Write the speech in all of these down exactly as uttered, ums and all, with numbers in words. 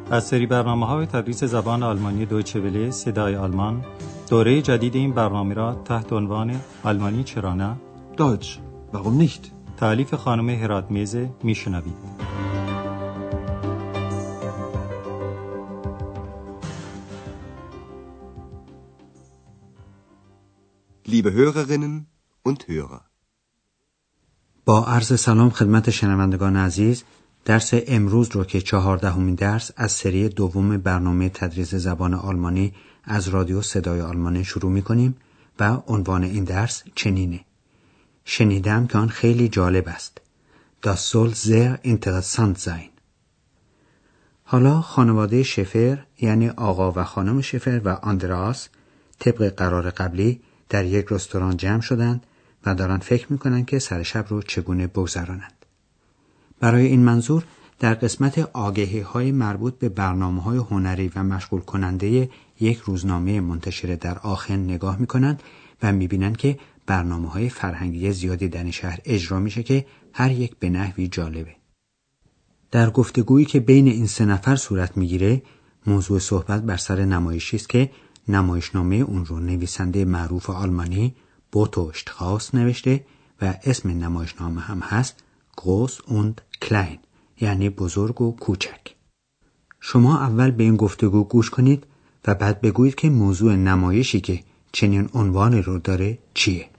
از سری برنامه‌های تدریس زبان آلمانی دویچه وله صدای آلمان دوره جدید این برنامه را تحت عنوان آلمانی چرا نه؟ Deutsch, warum nicht? تألیف خانم هراتمیزه میشنوید. Liebe Hörerinnen und Hörer. با عرض سلام خدمت شنوندگان عزیز، درس امروز رو که چهاردهمین درس از سری دوم برنامه تدریس زبان آلمانی از رادیو صدای آلمان شروع می‌کنیم و عنوان این درس چنینه: شنیدم که آن خیلی جالب است. Das soll sehr interessant sein. حالا خانواده شفر یعنی آقا و خانم شفر و آندراس طبق قرار قبلی در یک رستوران جمع شدند و دارن فکر میکنن که سر شب رو چگونه بگذرانند. برای این منظور در قسمت آگهی های مربوط به برنامه های هنری و مشغول کننده یک روزنامه منتشر در آخن نگاه میکنند و میبینند که برنامه های فرهنگی زیادی در این شهر اجرا میشه که هر یک به نحوی جالبه. در گفتگویی که بین این سه نفر صورت میگیره، موضوع صحبت بر سر نمایشی است که نمایشنامه اون رو نویسنده معروف آلمانی بوتو شتراوس نوشته و اسم نمایشنامه هم هست Groß und Klein، یعنی بزرگ و کوچک. شما اول به این گفتگو گوش کنید و بعد بگویید که موضوع نمایشی که چنین عنوانی رو داره چیه؟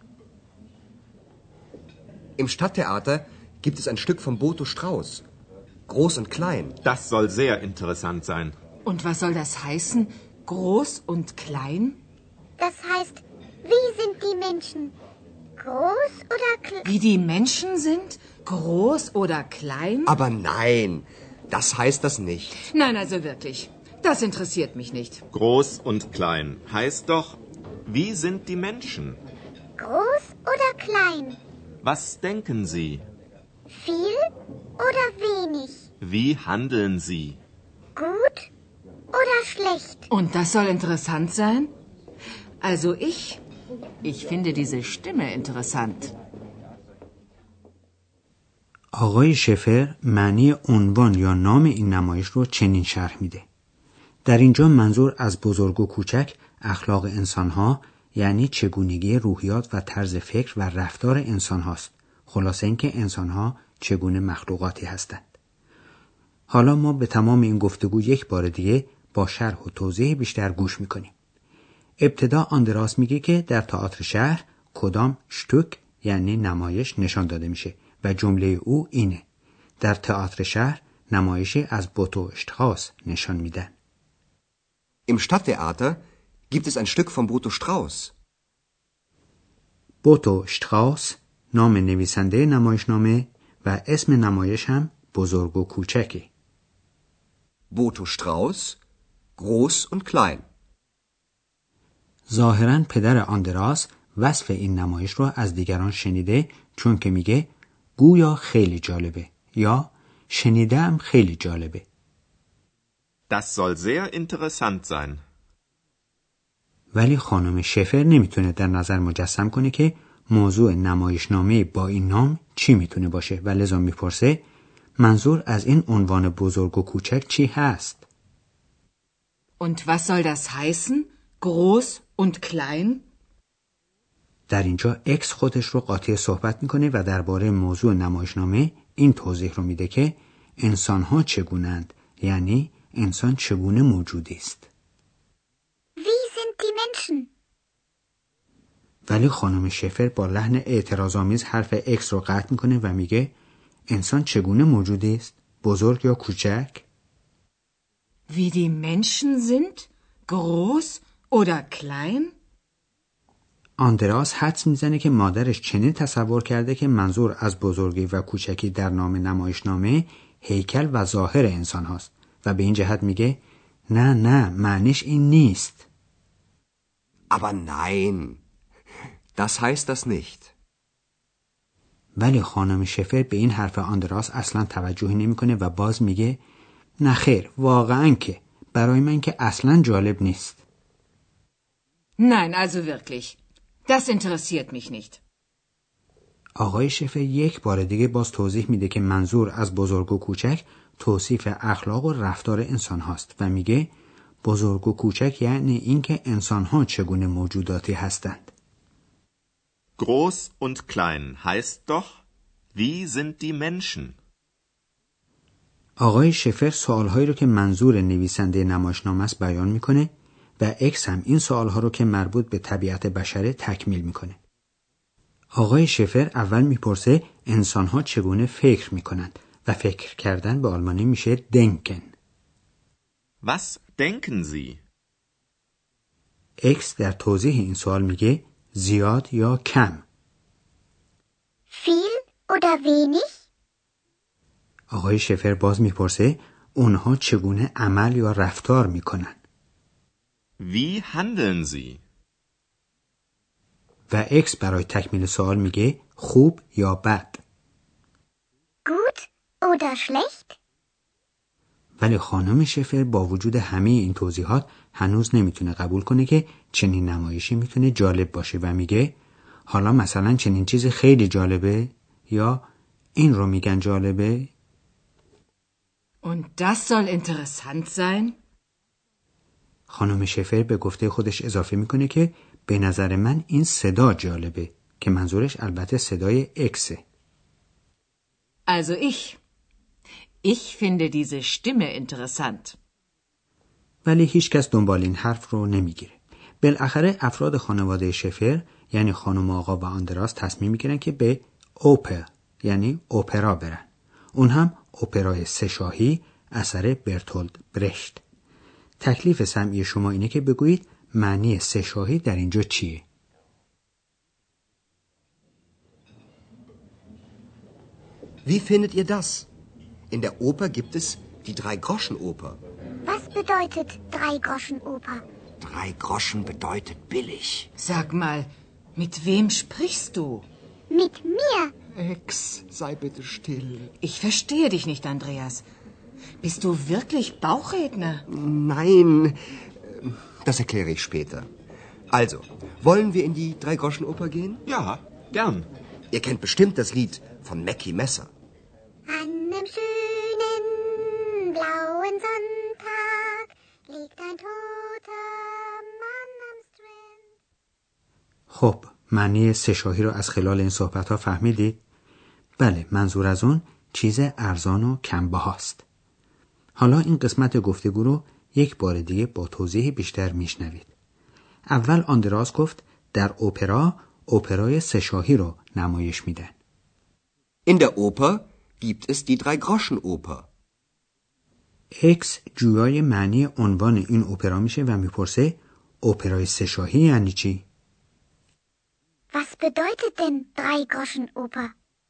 Im Stadttheater gibt es ein Stück von Boto Strauß. Groß und Klein. Das soll sehr interessant sein. Und was soll das heißen? Groß und klein? Das heißt, wie sind die Menschen? Groß oder klein? Wie die Menschen sind? Groß oder klein? Aber nein, das heißt das nicht. Nein, also wirklich. Das interessiert mich nicht. Groß und klein heißt doch, wie sind die Menschen? Groß oder klein? Was denken Sie? Viel oder wenig? Wie handeln Sie? Gut oder schlecht? Und das soll interessant sein? Also ich, ich finde diese Stimme interessant. آقای شفر معنی عنوان یا نام این نمایش رو چنین شرح میده: در اینجا منظور از بزرگ و کوچک اخلاق انسانها، یعنی چگونگی روحیات و طرز فکر و رفتار انسان هاست. خلاصه اینکه انسانها چگونه مخلوقاتی هستند. حالا ما به تمام این گفتگو یک بار دیگه با شرح و توضیح بیشتر گوش میکنیم. ابتدا آندراس میگه که در تئاتر شهر کدام شتوک یعنی نمایش نشان داده میشه و جمله او اینه: در تئاتر شهر نمایشی از بوتو شتراوس نشان میدن. Im Stadttheater gibt es ein Stück von Boto Strauß. بوتو شتراوس نام نویسنده نمایشنامه و اسم نمایش هم بزرگ و کوچکی. Boto Strauß, Groß und Klein. ظاهراً پدر آندراس وصف این نمایش رو از دیگران شنیده، چون که میگه گویا خیلی جالبه یا شنیدم خیلی جالبه. Das soll sehr interessant sein. ولی خانم شفر نمیتونه در نظر مجسم کنه که موضوع نمایشنامه با این نام چی میتونه باشه و لذا میپرسه منظور از این عنوان بزرگ و کوچک چی هست؟ Und was soll das heißen? Groß und klein? در اینجا اکس خودش رو قاطی صحبت میکنه و درباره موضوع نمایشنامه این توضیح رو میده که انسان‌ها چگونند، یعنی انسان چگونه موجودی است. Wie sind die Menschen? ولی خانم شفر با لحن اعتراض‌آمیز حرف اکس رو قطع میکنه و میگه انسان چگونه موجودی است؟ بزرگ یا کوچک؟ Wie die Menschen sind? Groß oder klein? آندراس حدس میزنه که مادرش چنین تصور کرده که منظور از بزرگی و کوچکی در نام نمایشنامه هیکل و ظاهر انسان هاست و به این جهت میگه نه نه معنیش این نیست. Aber nein, das heißt das nicht. ولی خانم شفر به این حرف آندراس اصلا توجهی نمیکنه و باز میگه نه خیر، واقعا که برای من که اصلا جالب نیست. Nein, also wirklich. Das interessiert mich nicht. آقای شفر یک بار دیگه باز توضیح میده که منظور از بزرگ و کوچک توصیف اخلاق و رفتار انسان هاست و میگه بزرگ و کوچک یعنی اینکه انسان ها چگونه موجوداتی هستند. Groß und klein heißt doch, wie sind die Menschen? آقای شفر سوالهایی رو که منظور نویسنده نمایشنامه است بیان میکنه و اکس هم این سوالها رو که مربوط به طبیعت بشره تکمیل میکنه. آقای شفر اول میپرسه انسان‌ها چگونه فکر میکنند و فکر کردن به آلمانی میشه denken. Was denken Sie? اکس در توضیح این سوال میگه زیاد یا کم. Viel oder wenig? آقای شفر باز میپرسه اونها چگونه عمل یا رفتار میکنن. Wie handeln Sie? و اکس برای تکمیل سوال میگه خوب یا بد. Gut oder schlecht? ولی خانم شفر با وجود همه این توضیحات هنوز نمیتونه قبول کنه که چنین نمایشی میتونه جالب باشه و میگه حالا مثلا چنین چیز خیلی جالبه یا این رو میگن جالبه. Und das soll interessant sein? خانم شفر به گفته خودش اضافه میکنه که به نظر من این صدا جالبه که منظورش البته صدای اکسه. Also ich. Ich finde diese Stimme interessant. ولی هیچ کس دنبال این حرف رو نمیگیره. بالاخره افراد خانواده شفر یعنی خانم آقا و آندراس تصمیم میگیرن که به اوپر یعنی اپرا برن. اون هم اپرای سه شاهی اثر برتولد برشت. تکلیف سمعی شما اینه که بگویید معنی سه شاهی در اینجا چیه؟ Wie findet ihr das? In der Oper gibt es die Drei-Groschen-Oper. Was bedeutet Drei-Groschen-Oper? Drei Groschen bedeutet billig. Sag mal, mit wem sprichst du? Mit mir. Ex, sei bitte still. Ich verstehe dich nicht, Andreas. Bist du wirklich Bauchredner? Nein, das erkläre ich später. Also, wollen wir in die Drei-Groschen-Oper gehen? Ja, gern. Ihr kennt bestimmt das Lied von Mackie Messer. An einem schönen blauen Sonntag liegt ein toter Mann am Strand. خب معنی سه شاهی رو از خلال این صحبت ها فهمیدید؟ بله، منظور از اون چیز ارزان و کمبهاست. حالا این قسمت گفتگو رو یک بار دیگه با توضیح بیشتر میشنوید. اول آندراس گفت در اپرا اپرای سه شاهی رو نمایش میدن. In der Oper gibt es die Drei-Groschen-Oper. اکس جویای معنی عنوان این اپرا میشه و میپرسه اپرای سه شاهی یعنی چی؟ Was bedeutet denn Drei-Groschen-Oper?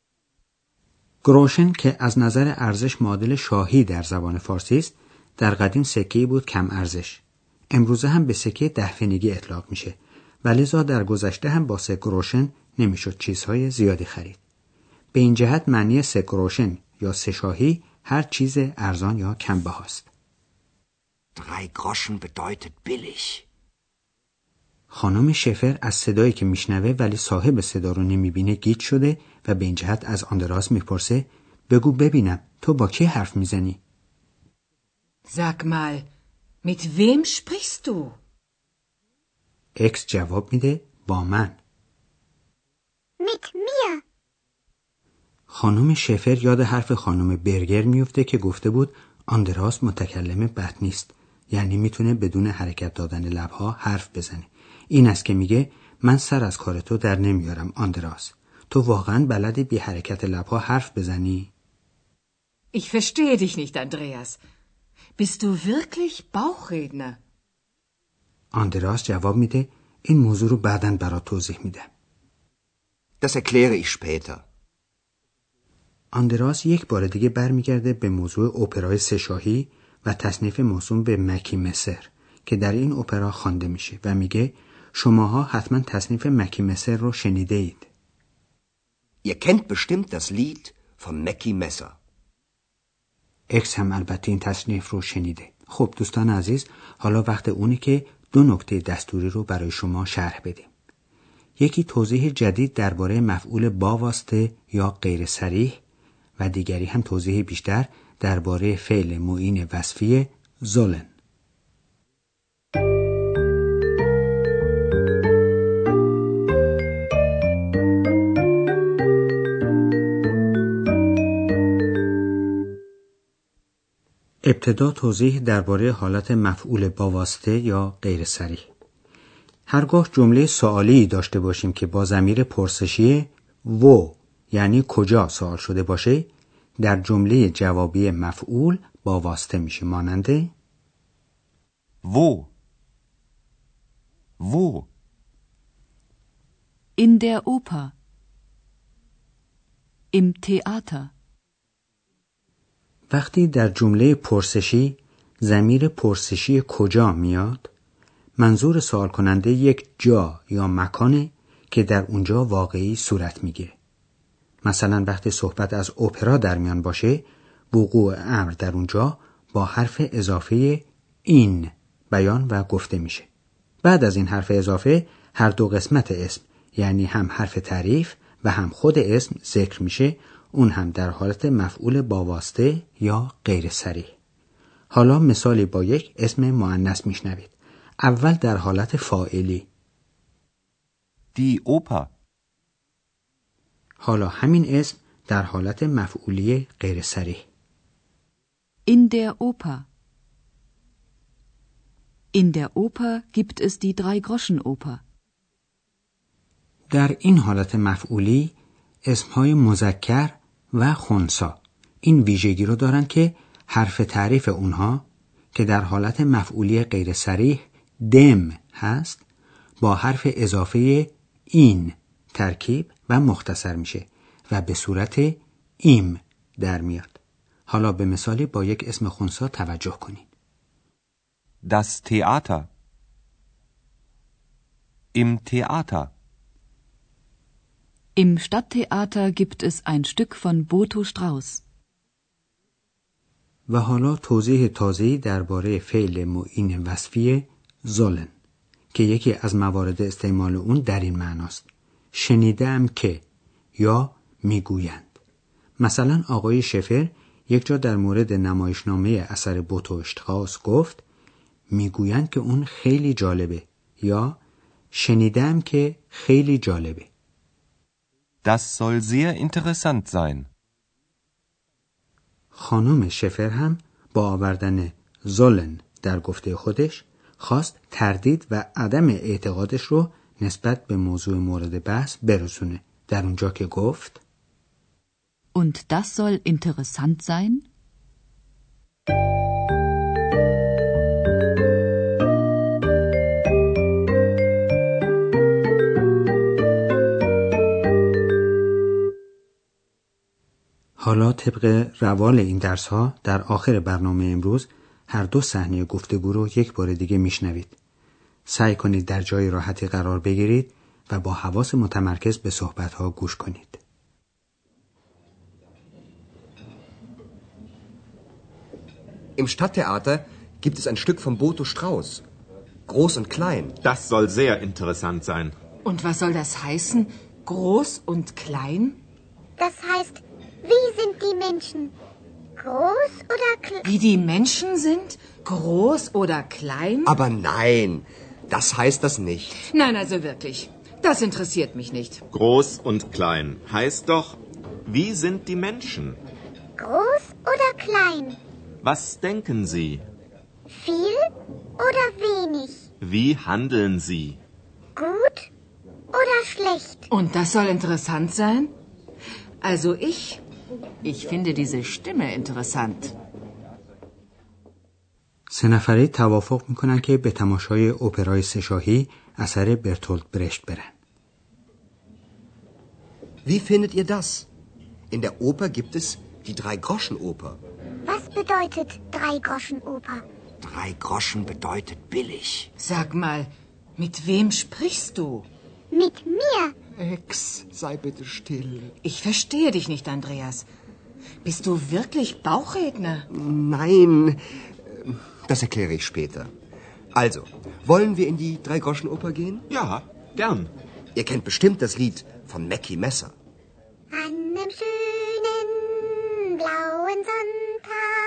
گروشن که از نظر ارزش معادل شاهی در زبان فارسی است، در قدیم سکه‌ای بود کم ارزش. امروزه هم به سکه ده پنیگی اطلاق میشه، ولی زا در گذشته هم با سه گروشن نمیشد چیزهای زیادی خرید. به این جهت معنی سه گروشن یا سه شاهی هر چیز ارزان یا کم بهاست. Drei Groschen bedeutet billig. خانم شفر از صدایی که میشنوه ولی صاحب صدا رو نمیبینه گیج شده و به این جهت از آندراس میپرسه بگو ببینم تو با کی حرف میزنی؟ Sag mal, mit wem sprichst du? اکس جواب میده با من. Mit mir. خانم شفر یاد حرف خانم برگر میفته که گفته بود آندراس متکلم بد نیست، یعنی میتونه بدون حرکت دادن لبها حرف بزنه. این است که میگه من سر از کار تو در نمیارم آندراس. تو واقعا بلدی بی حرکت لبها حرف بزنی؟ Ich verstehe dich nicht, Andreas. Bist du wirklich Bauchredner? آندراس جواب میده این موضوع رو بعداً برات توضیح میدم. Das erkläre ich später. آندراس یک بار دیگه برمیگرده به موضوع اپرای سه شاهی و تصنیف موسوم به مکی مسر که در این اپرا خوانده میشه و میگه شماها حتما تصنیف مکی مسر رو شنیده اید. Ihr kennt bestimmt das Lied von Mackie Messer. اکس هم البته این تصنیف رو شنیده. خب دوستان عزیز، حالا وقت اونی که دو نکته دستوری رو برای شما شرح بدیم. یکی توضیح جدید درباره مفعول با واسطه یا غیر صریح و دیگری هم توضیح بیشتر درباره فعل معین وصفی sollen. ابتدا توضیح درباره حالت مفعول با واسطه یا غیر صریح. هرگاه جمله سوالی داشته باشیم که با ضمیر پرسشی و یعنی کجا سوال شده باشه، در جمله جوابی مفعول با واسطه میشه، مانند Wo? Wo? In der Oper. Im Theater. وقتی در جمله پرسشی ضمیر پرسشی کجا میاد، منظور سوال کننده یک جا یا مکانه که در اونجا واقعی صورت میگیره. مثلا وقتی صحبت از اپرا در میان باشه، وقوع امر در اونجا با حرف اضافه این بیان و گفته میشه. بعد از این حرف اضافه هر دو قسمت اسم یعنی هم حرف تعریف و هم خود اسم ذکر میشه، اون هم در حالت مفعول با واسطه یا غیر صریح. حالا مثالی با یک اسم مؤنث میشنوید. اول در حالت فاعلی. Die Oper. حالا همین اسم در حالت مفعولی غیر صریح. In der Oper. In der Oper gibt es die Drei-Groschen-Oper. در این حالت مفعولی اسمهای مذکر و خنثی این ویژگی رو دارن که حرف تعریف اونها که در حالت مفعولی غیر صریح دم هست با حرف اضافه این ترکیب و مختصر میشه و به صورت ایم در میاد. حالا به مثالی با یک اسم خنثی توجه کنید. Das Theater. Im Theater. Im Stadttheater gibt es ein Stück von Boto Strauss. و حالا توضیح تازه‌ای درباره فعل معین وصفی sollen که یکی از موارد استعمال اون در این معناست: شنیدم که یا میگویند. مثلا آقای شفر یک جا در مورد نمایشنامه اثر بوتو شتراوس گفت میگویند که اون خیلی جالبه یا شنیدم که خیلی جالبه. Das soll sehr interessant sein. خانم شفر هم با آوردن sollen در گفته خودش خواست تردید و عدم اعتقادش رو نسبت به موضوع مورد بحث برسونه، در اونجا که گفت Und das soll interessant sein? حالا طبق روال این درس ها در آخر برنامه امروز هر دو صحنه گفتگو رو یک بار دیگه میشنوید. سعی کنید در جای راحتی قرار بگیرید و با حواس متمرکز به صحبت ها گوش کنید. Im Stadttheater gibt es ein Stück von Boto Strauss. Groß und klein. Das soll sehr interessant sein. Und was soll das heißen? Groß und klein? Das heißt, wie sind die Menschen? Groß oder klein? Wie die Menschen sind? Groß oder klein? Aber nein, das heißt das nicht. Nein, also wirklich. Das interessiert mich nicht. Groß und klein heißt doch, wie sind die Menschen? Groß oder klein? Was denken Sie? Viel oder wenig? Wie handeln Sie? Gut oder schlecht? Und das soll interessant sein? Also ich, ich finde diese Stimme interessant. سه نفره توافق میکنن که به تماشای اپرای سه‌شاهی اثر برتولد برشت برن. Wie findet ihr das? In der Oper gibt es die Drei-Groschen-Oper. Was bedeutet Drei-Groschen-Oper? Drei Groschen bedeutet billig. Sag mal, mit wem sprichst du? Mit mir. Ex, sei bitte still. Ich verstehe dich nicht, Andreas. Bist du wirklich Bauchredner? Nein, das erkläre ich später. Also, wollen wir in die Drei-Groschen-Oper gehen? Ja, gern. Ihr kennt bestimmt das Lied von Mackie Messer. An einem schönen blauen Sonntag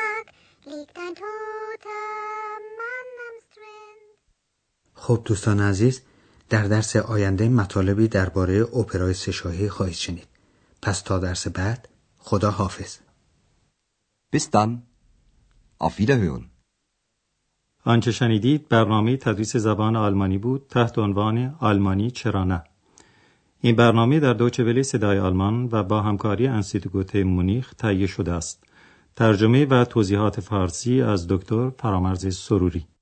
ein toter Mann am Strand. خب دوستان عزیز، در درس آینده مطالبی درباره اپرای سه‌شاهی خواهید شنید. پس تا درس بعد، خدا حافظ. Bis dann. Auf Wiederhören. آنچه شنیدید برنامه تدریس زبان آلمانی بود تحت عنوان آلمانی چرا نه. این برنامه در دویچه وله صدای آلمان و با همکاری انستیتوت مونیخ تهیه شده است. ترجمه و توضیحات فارسی از دکتر فرامرز سروری.